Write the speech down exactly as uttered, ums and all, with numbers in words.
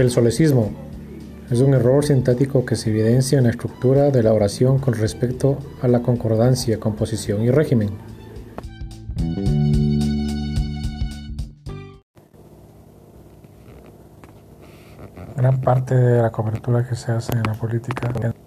El solecismo es un error sintáctico que se evidencia en la estructura de la oración con respecto a la concordancia, composición y régimen. Gran parte de la cobertura que se hace en la política